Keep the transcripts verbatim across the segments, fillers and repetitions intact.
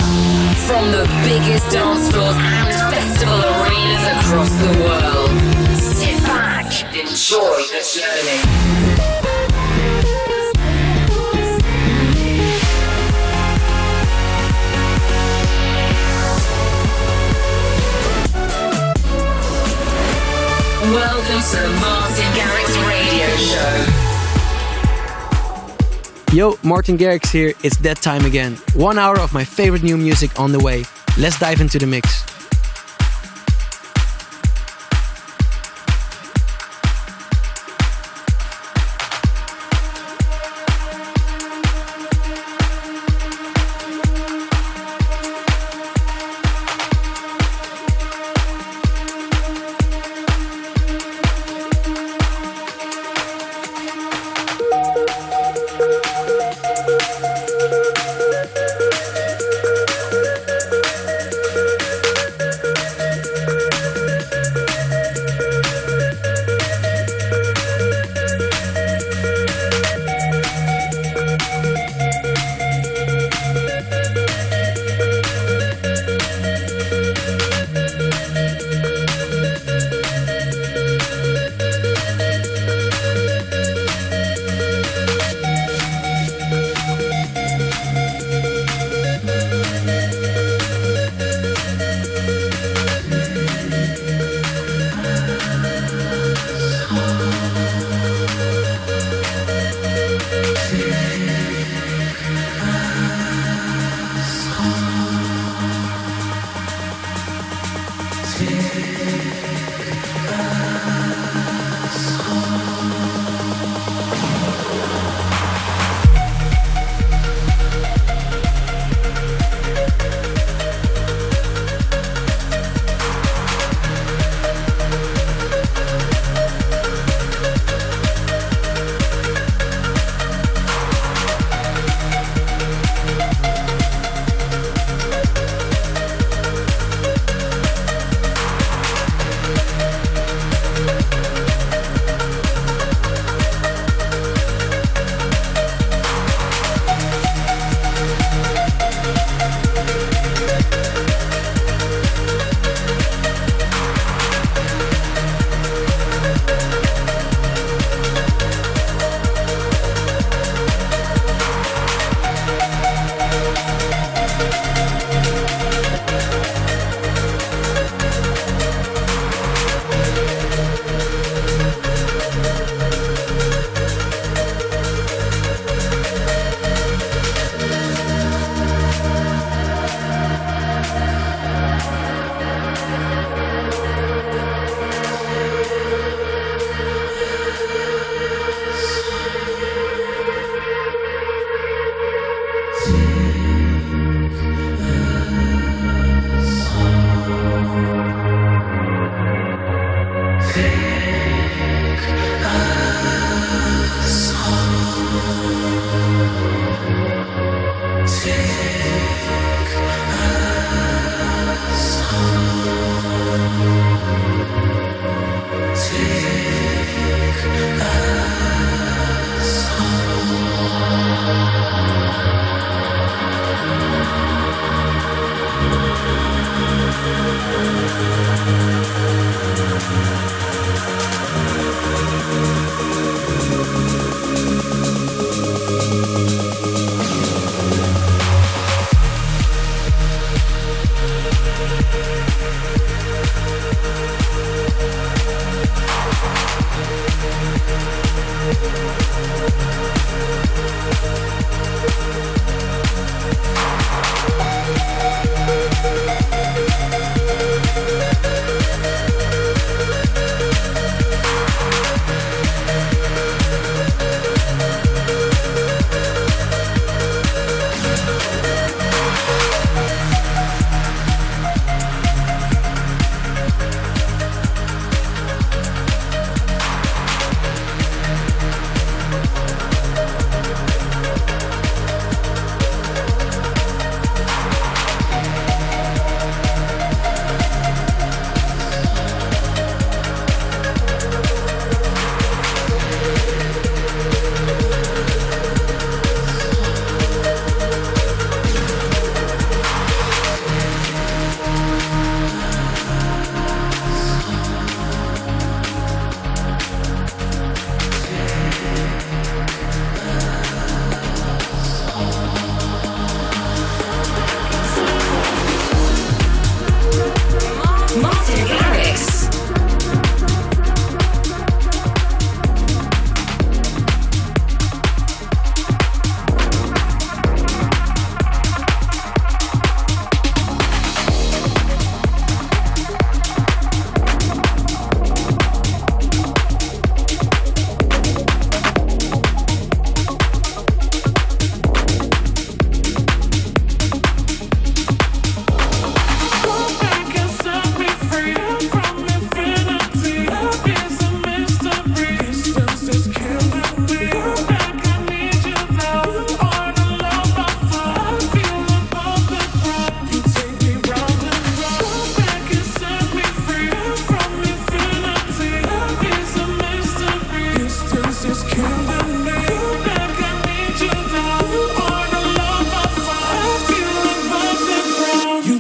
From the biggest dance floors and festival arenas across the world. Sit back, enjoy the journey. Welcome to the Martin Garrix Radio Show. Yo, Martin Garrix here. It's that time again. One hour of my favorite new music on the way. Let's dive into the mix.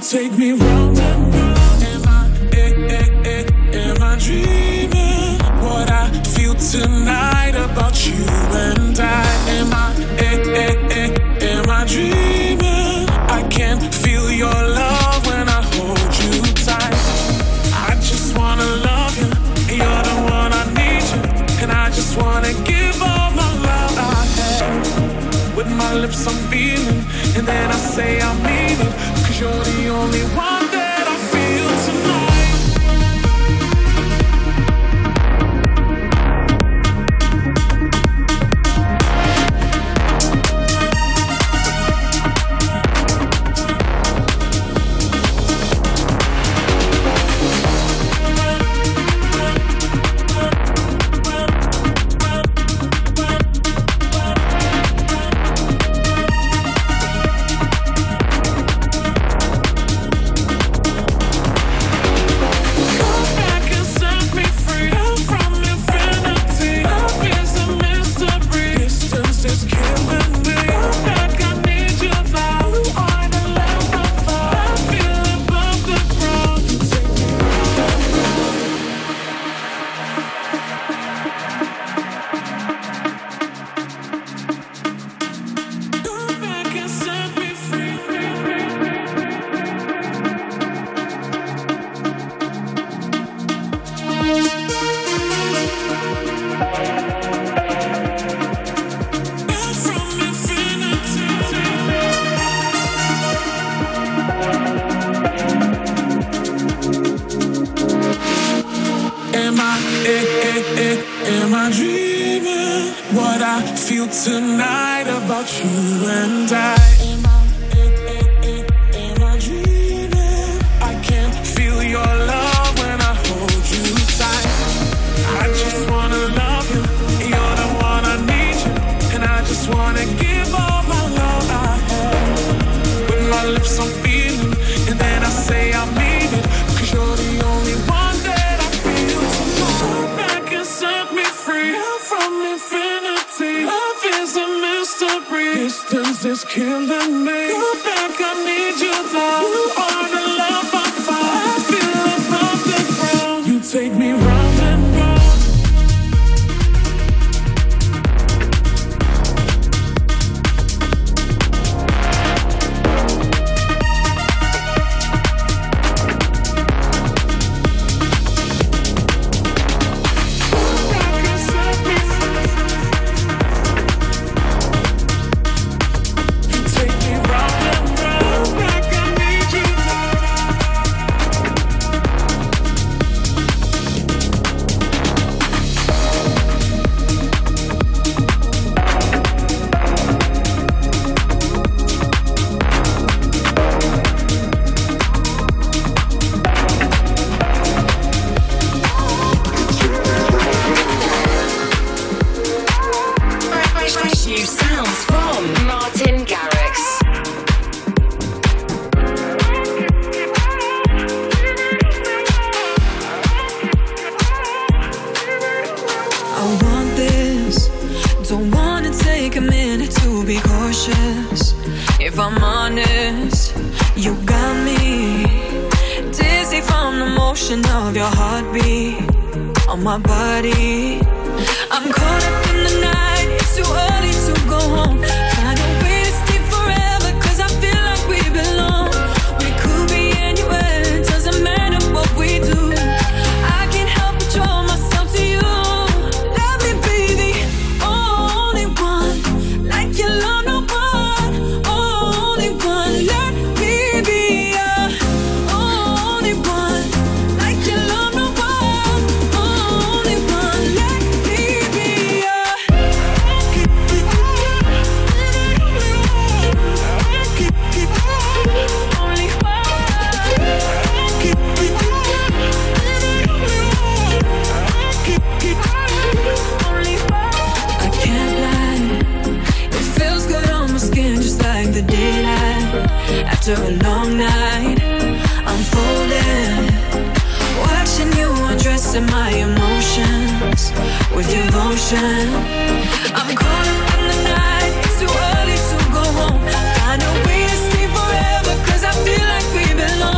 take me round and round. Am I, eh, eh, eh, am I dreaming? What I feel tonight about you and I. Am I, eh, eh, eh, am I dreaming? I can feel your love when I hold you tight. I just wanna love you, you're the one I need you, and I just wanna give all my love I have. With my lips I'm feeling, and then I say I mean it, 'cause you're the only one that I feel tonight. Tonight about you and I. Am I, eh, eh, eh, am I dreaming? I can feel your love when I hold you tight. I just wanna love you, you're the one I need you, and I just wanna give all my love I have. With my lips I'm feeling, and then I say I mean it, 'cause you're the only one that I feel. So come back and set me free from infinity. Love is a mystery. Distance is killing me. Come back, I need you now. You are the love I find. I feel above the ground. You take me round and round. Of your heartbeat on my body. I'm caught up in the night. It's too early to go home. Find a way to stay forever, 'cause I feel like we belong. We could be anywhere, it doesn't matter what we do. I can't help but draw myself to you. Let me be the only one, like you love no one. Only one, let me be your only one. After a long night, I'm folding, watching you undressing my emotions with devotion. I'm caught up in the night. It's too early to go home. Find a way to stay forever, 'cause I feel like we belong.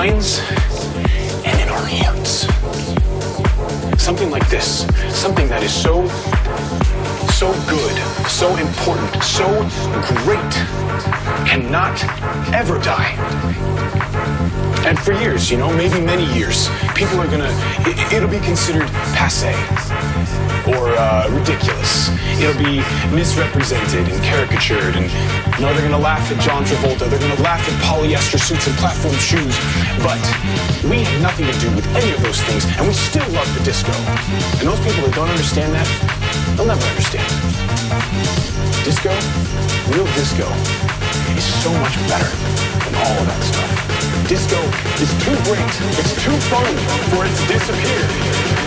minds and in our hands. Something like this, something that is so, so good, so important, so great, cannot ever die. And for years, you know, maybe many years, people are gonna, it, it'll be considered passé or uh, ridiculous. It'll be misrepresented and caricatured, and you know, they're gonna laugh at John Travolta, they're gonna laugh at polyester suits and platform shoes, but we had nothing to do with any of those things, and we still love the disco. And those people that don't understand that, they'll never understand. Disco, real disco, is so much better than all of that stuff. Disco is too great, it's too fun for it to disappear.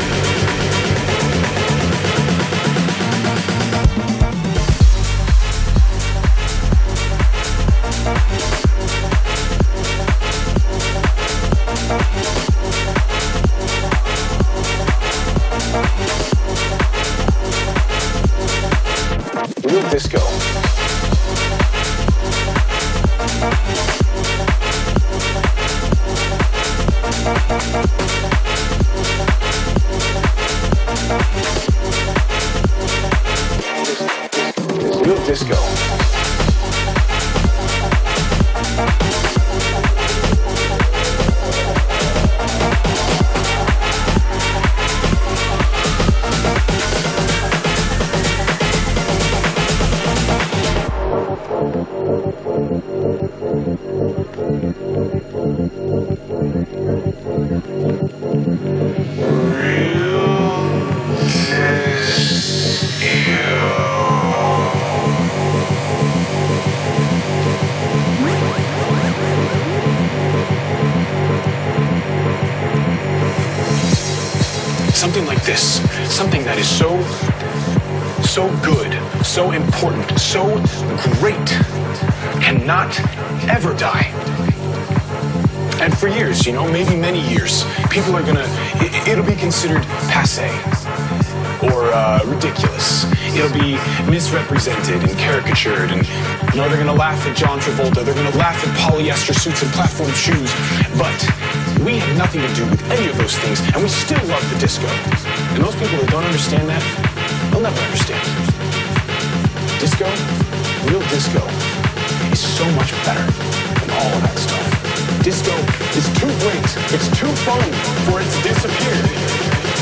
Real disco. Real disco. Something like this, something that is so, so good, so important, so great, cannot ever die. And for years, you know, maybe many years, people are gonna, it, it'll be considered passé or uh, ridiculous. It'll be misrepresented and caricatured, and you know, they're gonna laugh at John Travolta, they're gonna laugh at polyester suits and platform shoes, but we had nothing to do with any of those things, and we still love the disco. And those people that don't understand that, they'll never understand. Disco, real disco, is so much better than all of that stuff. Disco is too great, it's too fun for it to disappear.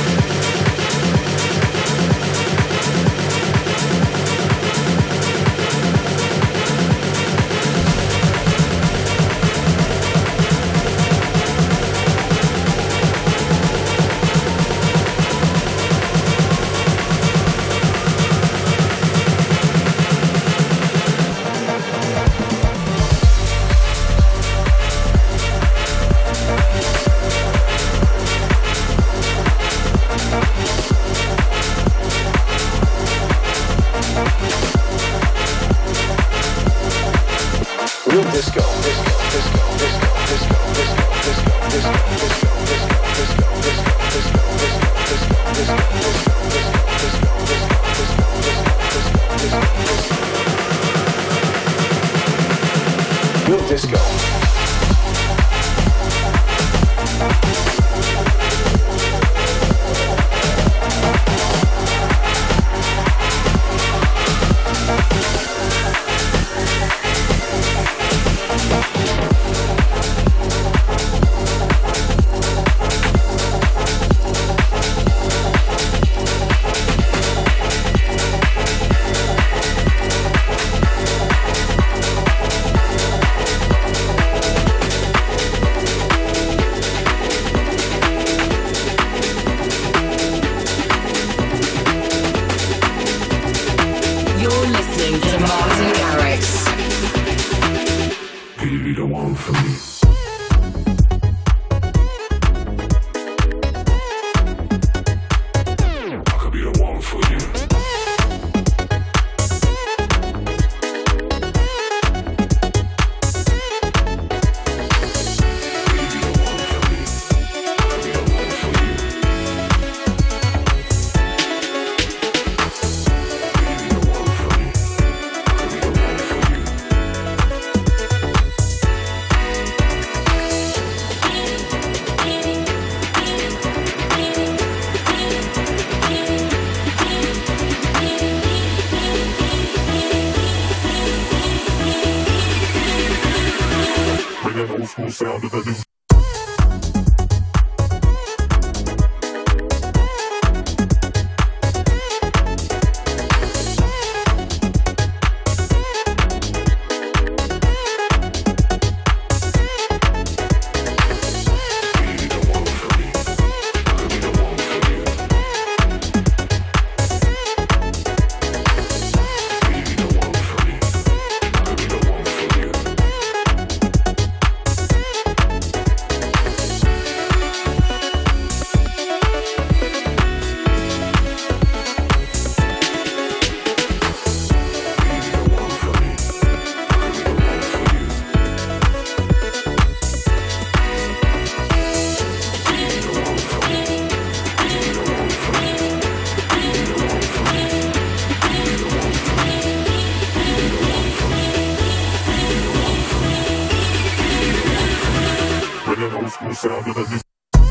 Real disco, disco, disco, disco, disco, disco, disco, disco, disco, disco, disco, disco, disco, disco, disco, real disco. that old school sound of the new. Sound of the new.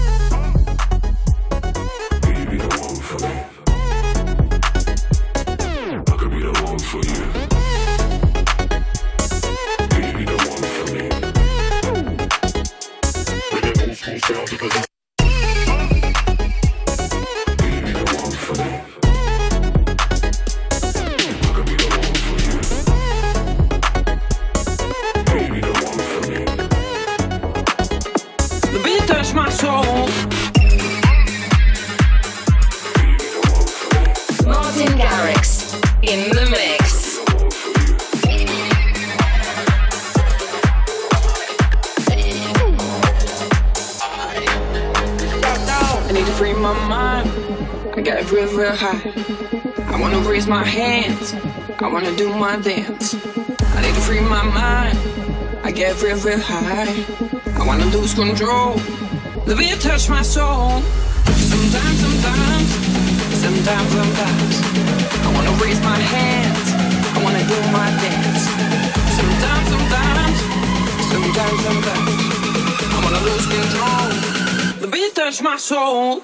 Baby, the one for me. I could be the one for you. Baby, the one for me. Bring that old school sound of the new. Baby, the one for me. I could be the one for you. Baby, the one for me. The beat touched my soul. Martin Garrix in the mix. I need to free my mind. I got it real, real high. I wanna raise my hands. I wanna do my dance. I need to free my mind. I get real, real high. I wanna lose control. The beat touch my soul. Sometimes, sometimes, sometimes, sometimes. I wanna raise my hands. I wanna do my dance. Sometimes, sometimes, sometimes, sometimes. I wanna lose control. The beat touch my soul.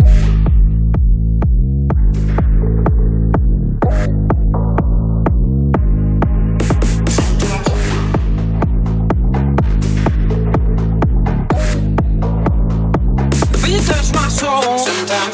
Touch my soul. Sometimes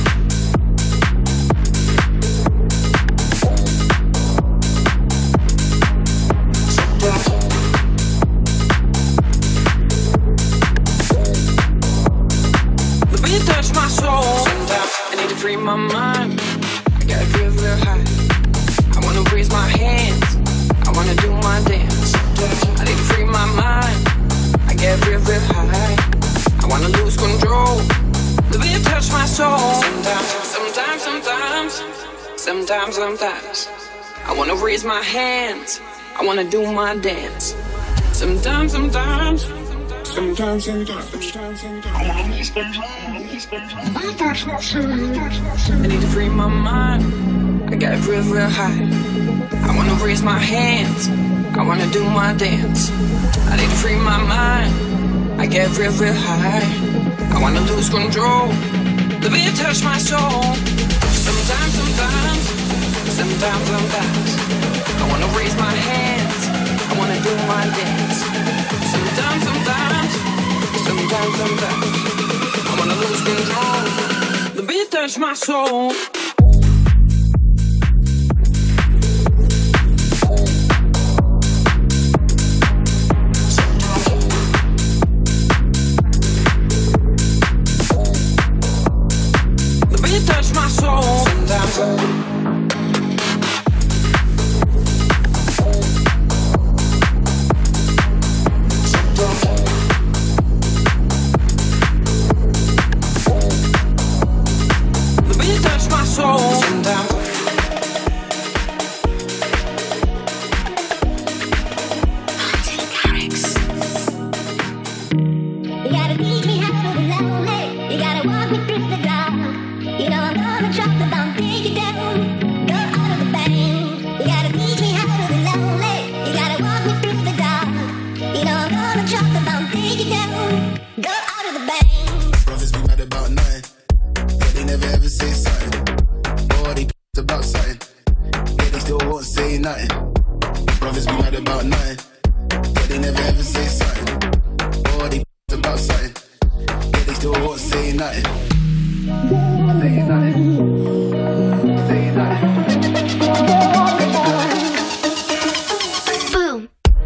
the beat touch my soul. Sometimes I need to free my mind. I got it real, real high. I wanna raise my hands. I wanna do my dance. I need to free my mind. I get real, real high. I wanna lose control. The beat touch my soul. Sometimes, sometimes, sometimes, sometimes, sometimes. I wanna raise my hands. I wanna do my dance. Sometimes, sometimes, sometimes, sometimes, sometimes. I wanna lose control. The beat touch my soul. I need to free my mind. I got it real, real high. I wanna raise my hands. I wanna do my dance. I need to free my mind. I get real, real high. I wanna lose control. The beat touch my soul. Sometimes, sometimes, sometimes, sometimes. I wanna raise my hands. I wanna do my dance. Sometimes, sometimes, sometimes, sometimes. I wanna lose control. The beat touch my soul. Touch my soul. Sometimes the beat touch my soul. Sometimes you gotta teach me how to be lonely. You gotta walk me through the dark. You know I'm gonna drop the bomb, take you down, go out of the bank. You gotta teach me how to be lonely. You gotta walk me through the dark. You know I'm gonna drop the bomb, take you down, go out of the bank. Brothers be mad about nothing, yeah, they never ever say something. Or they p***ed about something, yeah, they still won't say nothing. Brothers be mad about nothing, yeah, they never ever say something. nothing. Say nothing. Say nothing. Boom.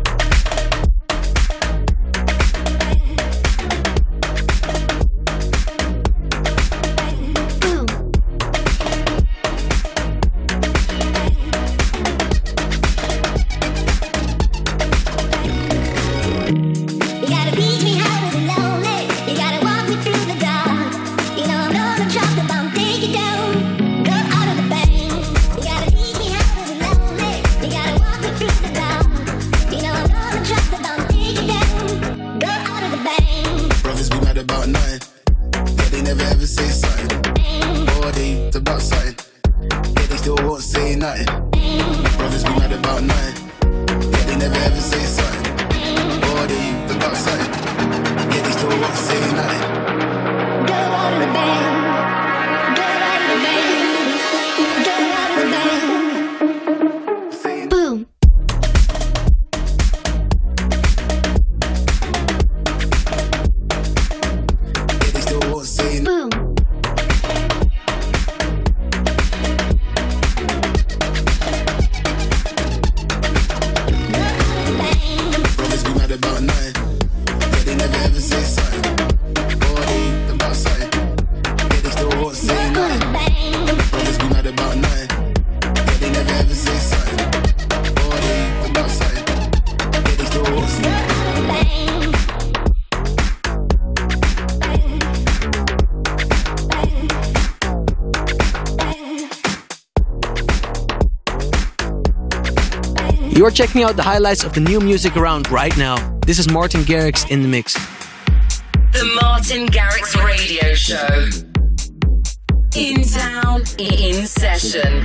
You're checking out the highlights of the new music around right now. This is Martin Garrix in the mix. The Martin Garrix Radio Show. In town, in session.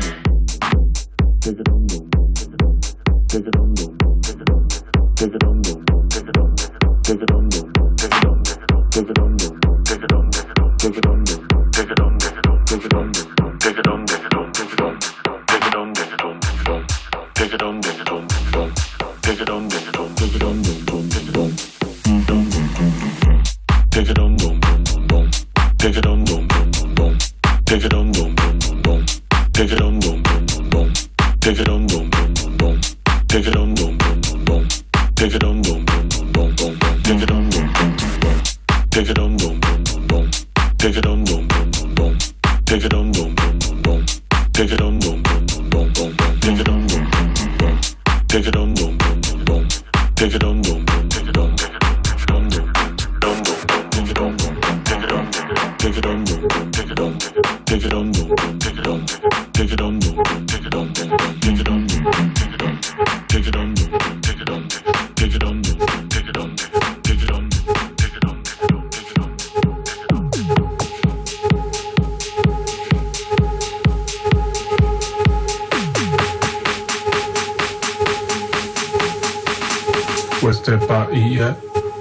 What's that about eat yet?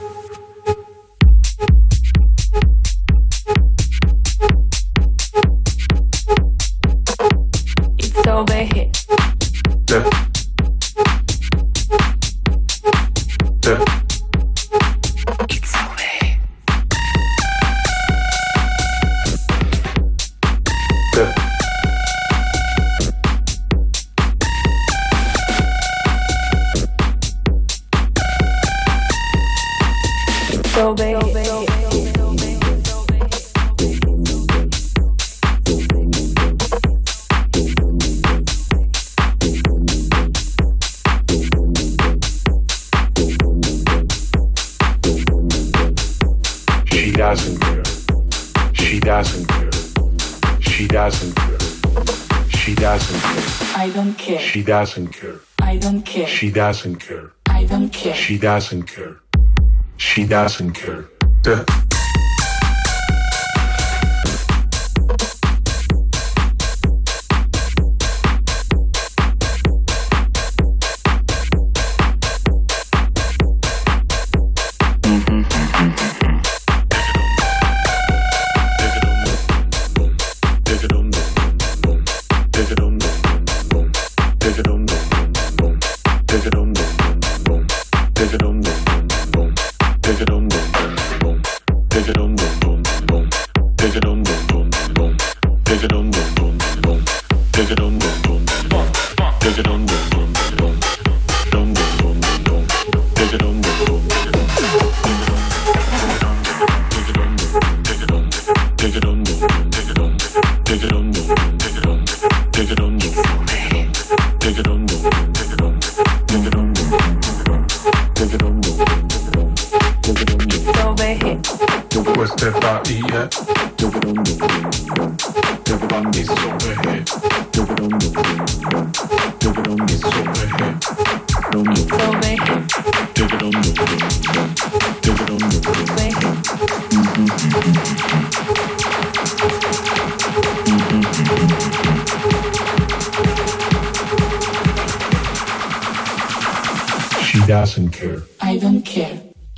It's over here. Yeah. Yeah. It's over here. Yeah. So baby, She doesn't care. She doesn't care. She doesn't care. She doesn't care. I don't care. She doesn't care. I don't care. She doesn't care. I don't care. She doesn't care. She doesn't care. Yeah. What's that body at? The body's overhead. It's overhead. She doesn't care. I don't care.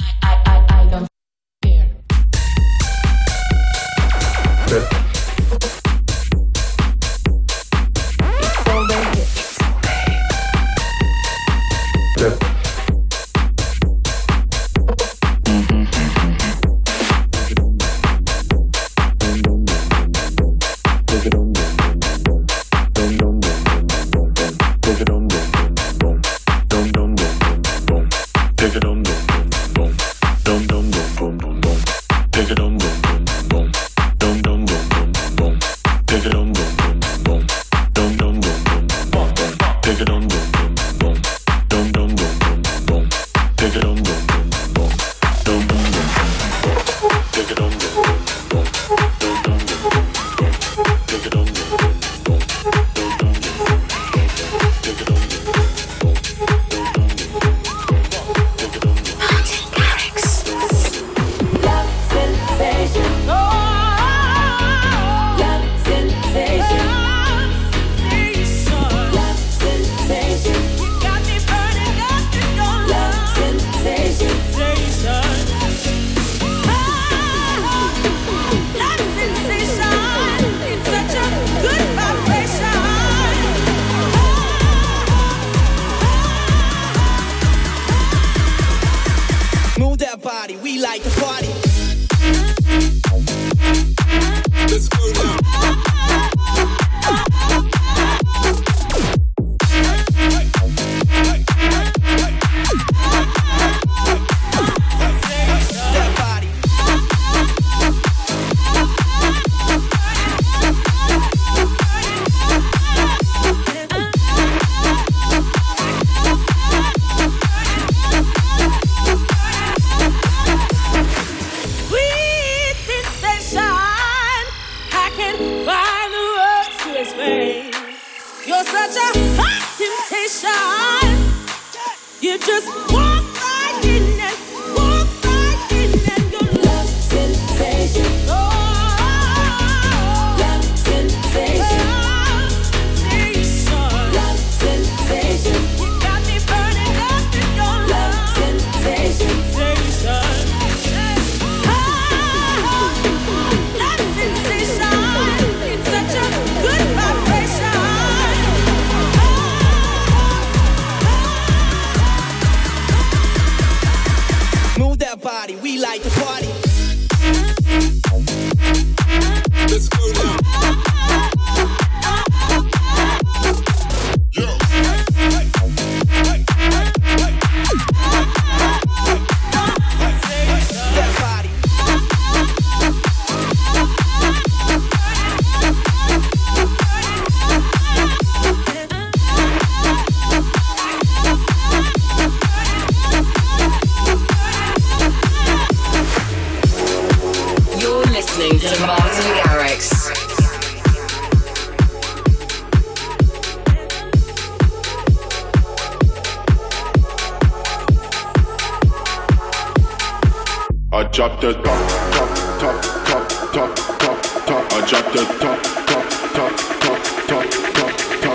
drop the top, top, top, top, top, top, top. I drop the top, top, top, top, top, top, top.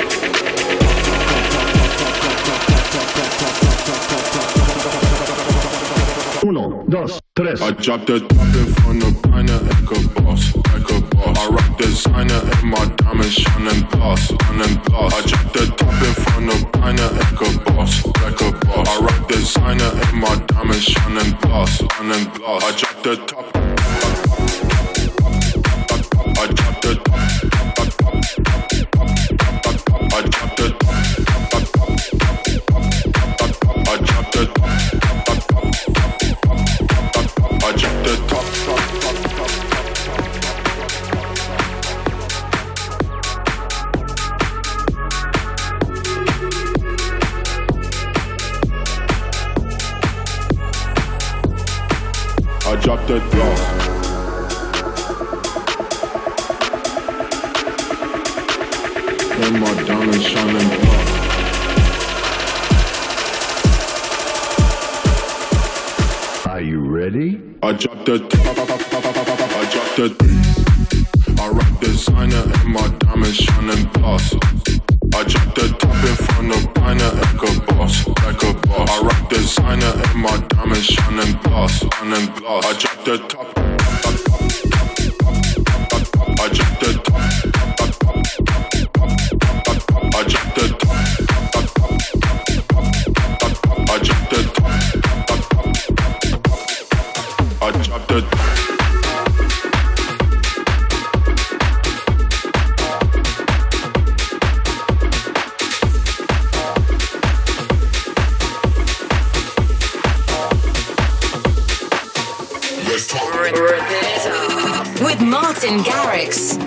Uno, dos, tres. I drop the top in front of Piner, like a boss, like a boss. I rock designer and my diamonds shining gloss, shining gloss. I drop the top in front of Piner, like a boss, like a boss. I rock designer and my diamonds shining gloss, shining gloss. I drop the top. I drop the top. I drop the top. I drop the top. I drop the top, top, top, top, I drop the glass. And my diamonds shining bright. Are you ready? I drop the top, I drop the bass. I rock designer and my diamonds shining boss. I drop the top in front of Piner like a boss, like a boss. I rock designer and my diamonds shining gloss, shining gloss. I drop the top, I drop the top, I drop the top, I drop the top, I drop the top. With Martin Garrix.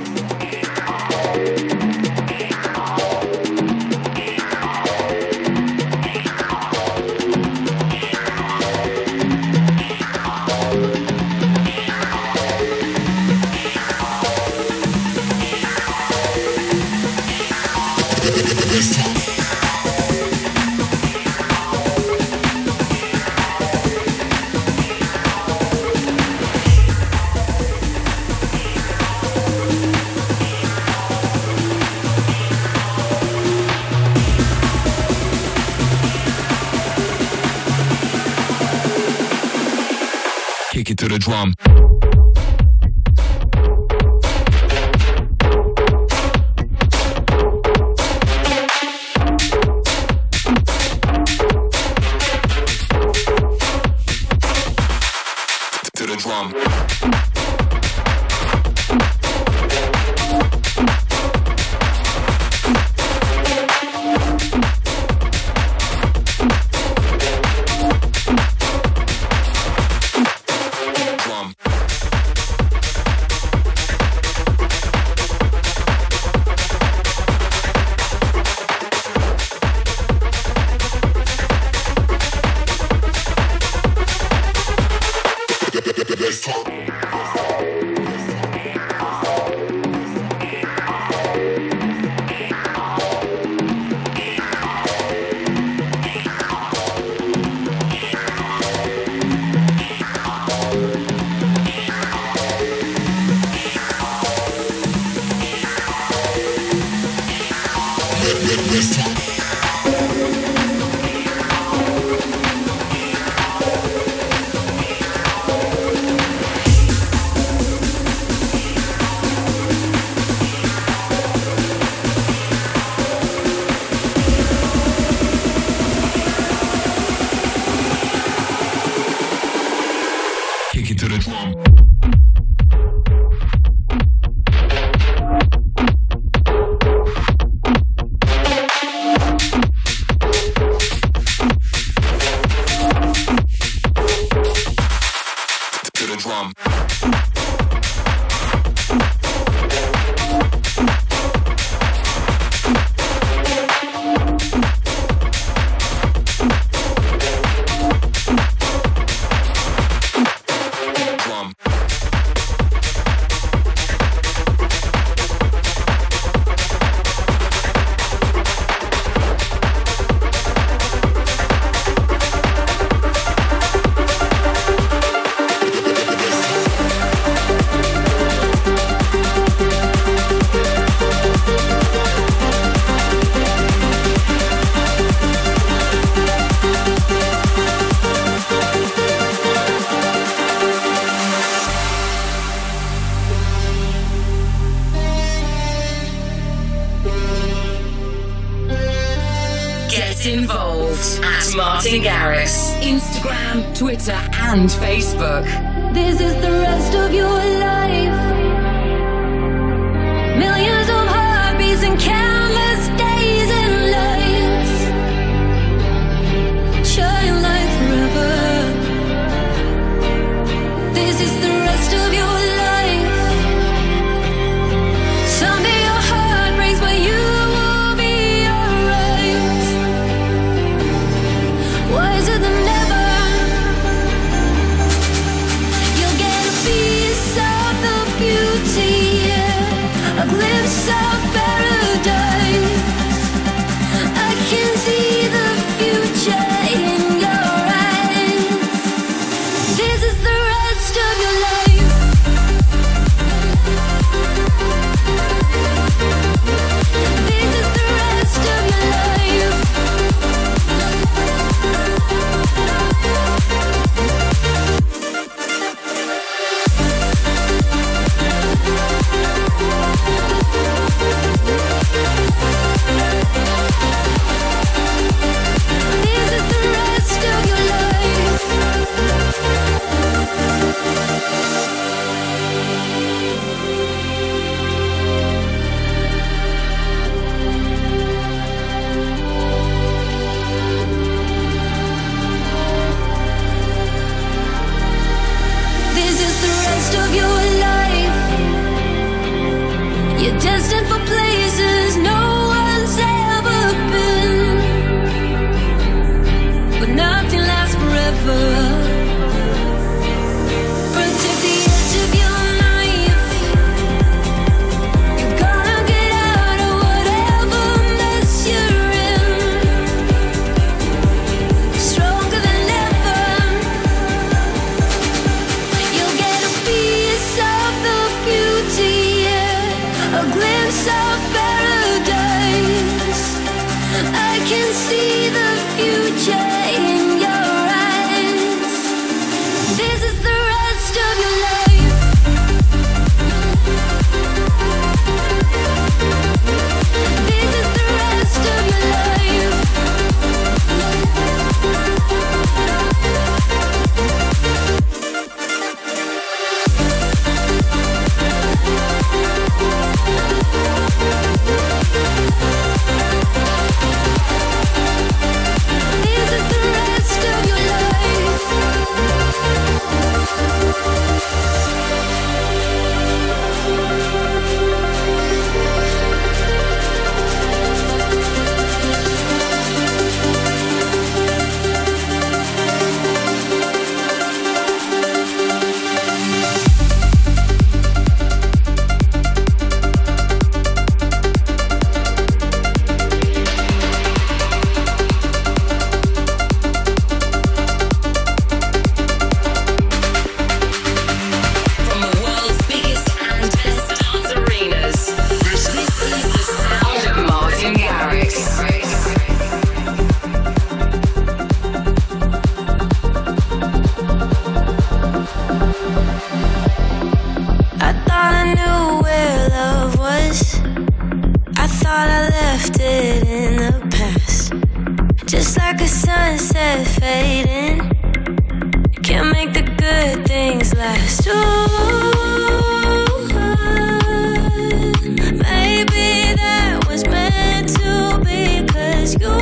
Kick it to the drum. To the drum. Involved at Martin Garrix, Instagram, Twitter, and Facebook. This is the rest of your life. Millions of heartbeats and countless days and lights shine like forever. This is the rest of your life. Someday your heart breaks, but you will be alright. Wiser than ever. see the future in your eyes. This is the rest of your life. This is the rest of your life. This is the rest of your life. From the world's biggest and best dance arenas, this is the sound of Martin Garrix. I thought I knew where love was. I thought I left it in the past. Just like a sunset fading, can't make the good things last. Ooh, maybe that was meant to be, 'cause you,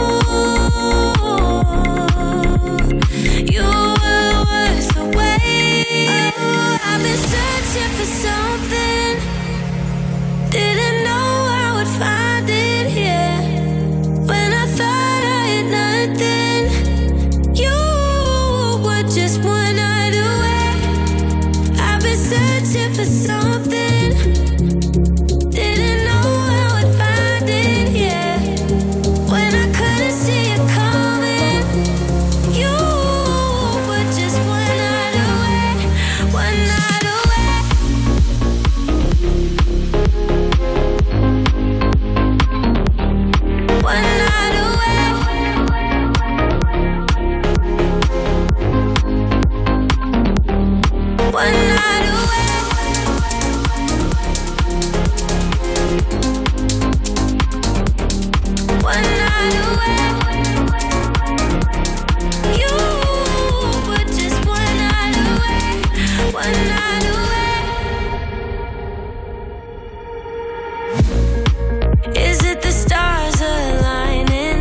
you were worth the wait. I've been searching for something, didn't know I would find it here. When I thought I had nothing, you were just one night away. I've been searching for something, didn't know I would find it here. When I couldn't see it coming, you were just one night away, one night away. One night away. One night away. One night away. You were just one night away. One night away. Is it the stars aligning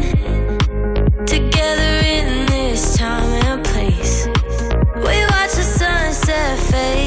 together in this time and place? We watch the sunset fade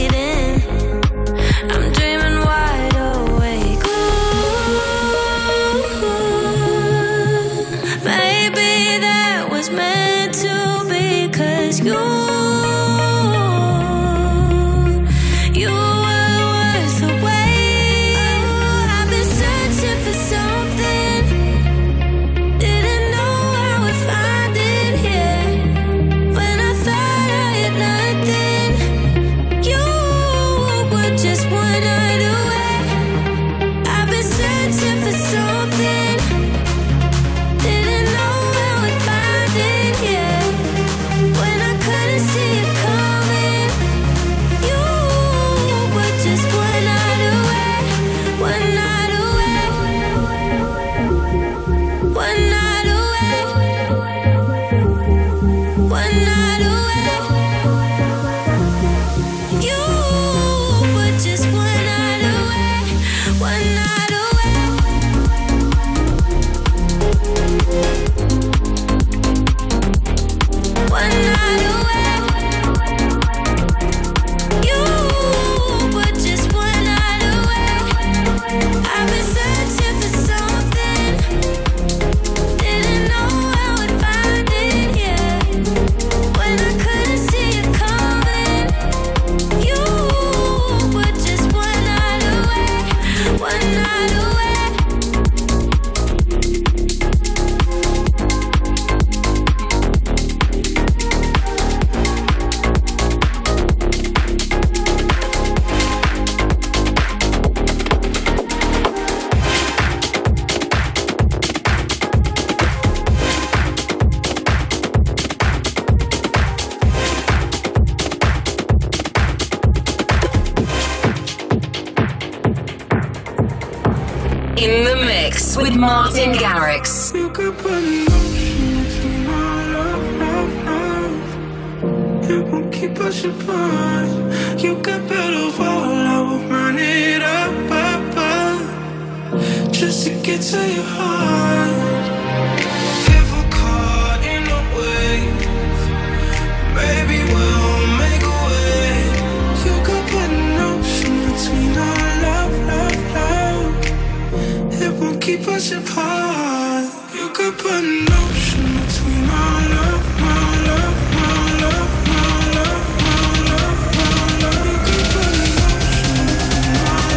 in the mix with Martin Garrix. You could put an ocean between our love, love, love. It won't keep us apart. You could build a wall, I will run it up, up, up, just to get to your heart. If we're caught in a wave, maybe we'll make a way. You could put an ocean between our love, love, love. It won't keep us apart. You could put an ocean between our love, our love, our love, our love, our love, our love. You could put an ocean between our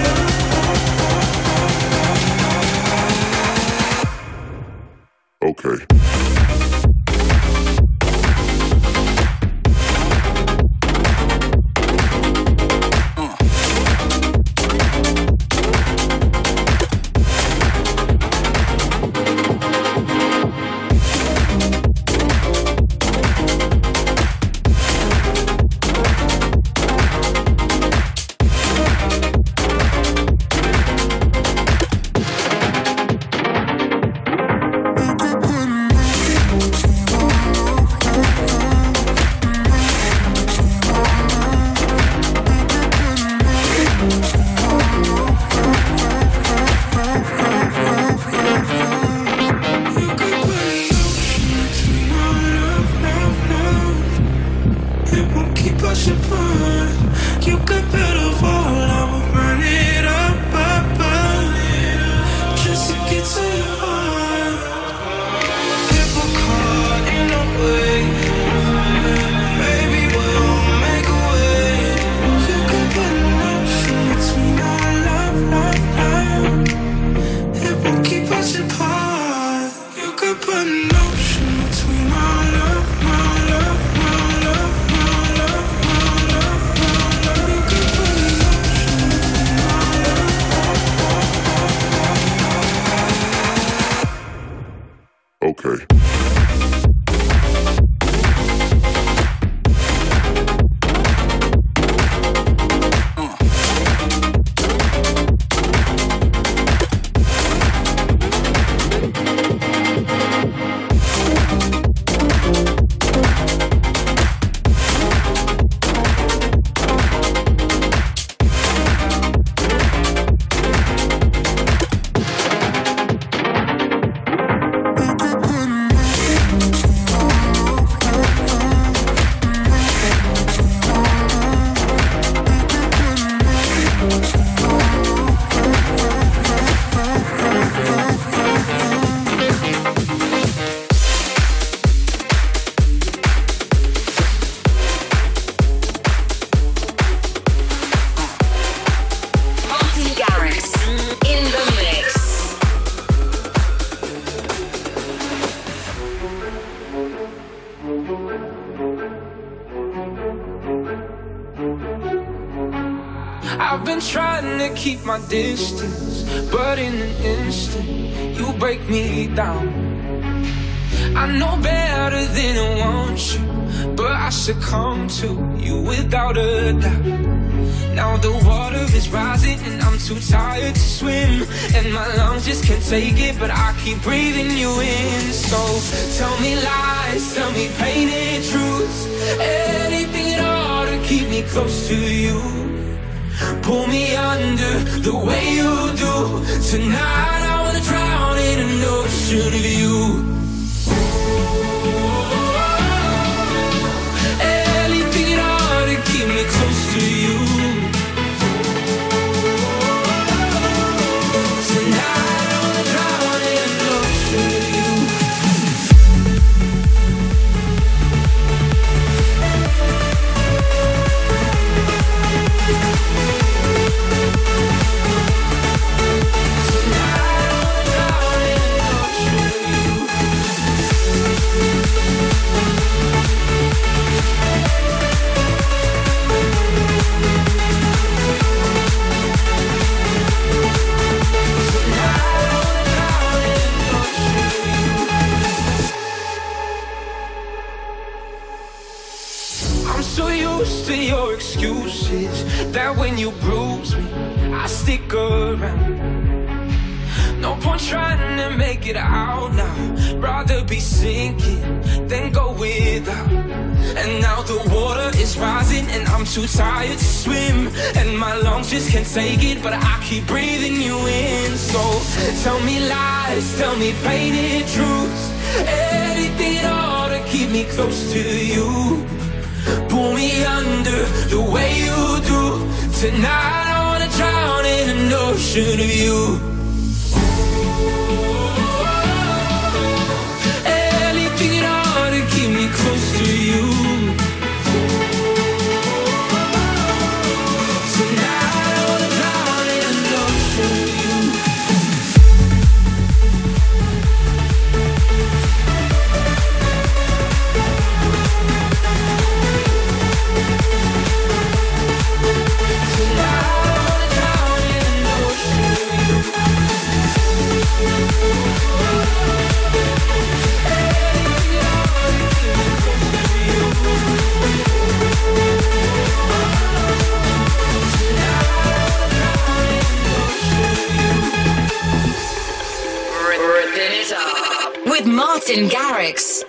love. Okay. I've been trying to keep my distance, but in an instant, you break me down. I know better than I want you, but I succumb to you without a doubt. Now the water is rising and I'm too tired to swim, and my lungs just can't take it, but I keep breathing you in. So tell me lies, tell me painted truths, anything at all to keep me close to you. Pull me under the way you do. Tonight I wanna drown in an ocean of you. Anything at all to keep me close to you. Tonight I wanna drown in an ocean of you. To your excuses, that when you bruise me, I stick around. No point trying to make it out now. Rather be sinking than go without. And now the water is rising and I'm too tired to swim. And my lungs just can't take it, but I keep breathing you in. So tell me lies, tell me painted truths, anything at all to keep me close to you. Pull me under the way you do. Tonight I wanna drown in an ocean of you. Anything at all to keep me close to you. Tonight I wanna drown in an ocean of you. With Martin Garrix.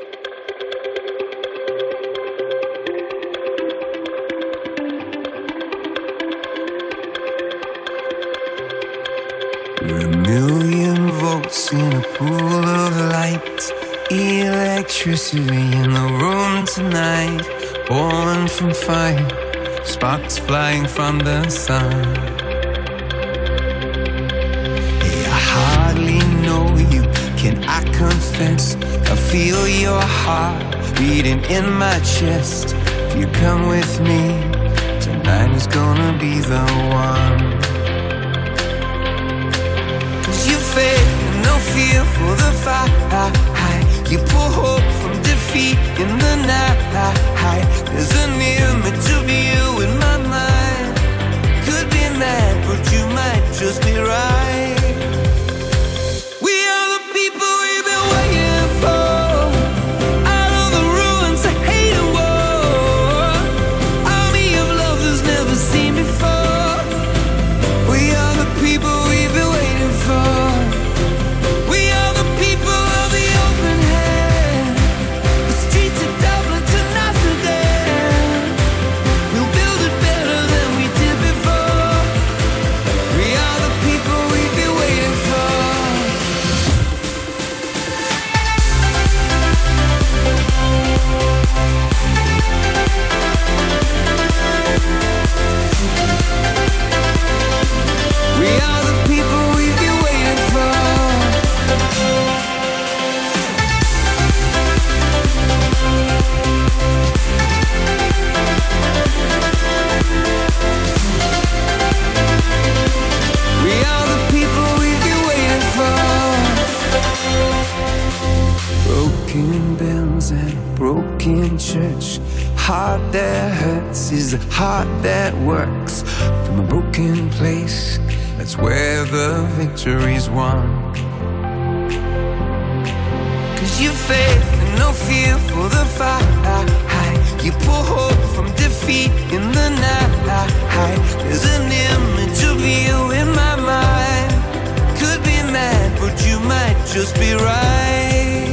We're a million volts in a pool of light, electricity in the room tonight, born from fire, sparks flying from the sun. Hey, I hardly know you, can I confess? I feel your heart beating in my chest. If you come with me, tonight is gonna be the one. Cause you faith and no fear for the fight. You pull hope from defeat in the night. There's an image of you in my mind. Could be mad, but you might just be right. Church, heart that hurts is a heart that works. From a broken place, that's where the victory's won. Cause you faith and no fear for the fight. You pull hope from defeat in the night. There's an image of you in my mind. Could be mad, but you might just be right.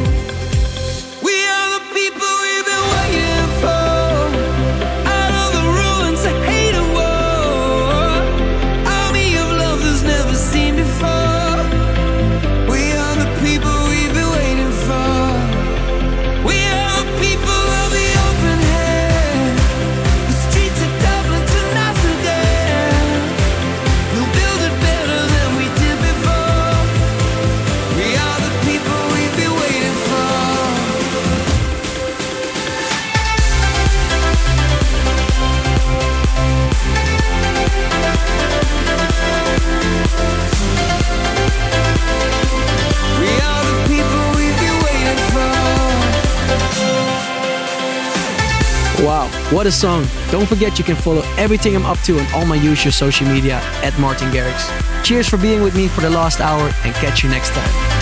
Wow, what a song. Don't forget you can follow everything I'm up to on all my usual social media at Martin Garrix. Cheers for being with me for the last hour and catch you next time.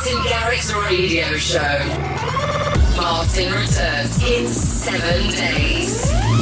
Martin Garrix Radio Show. Martin returns in seven days.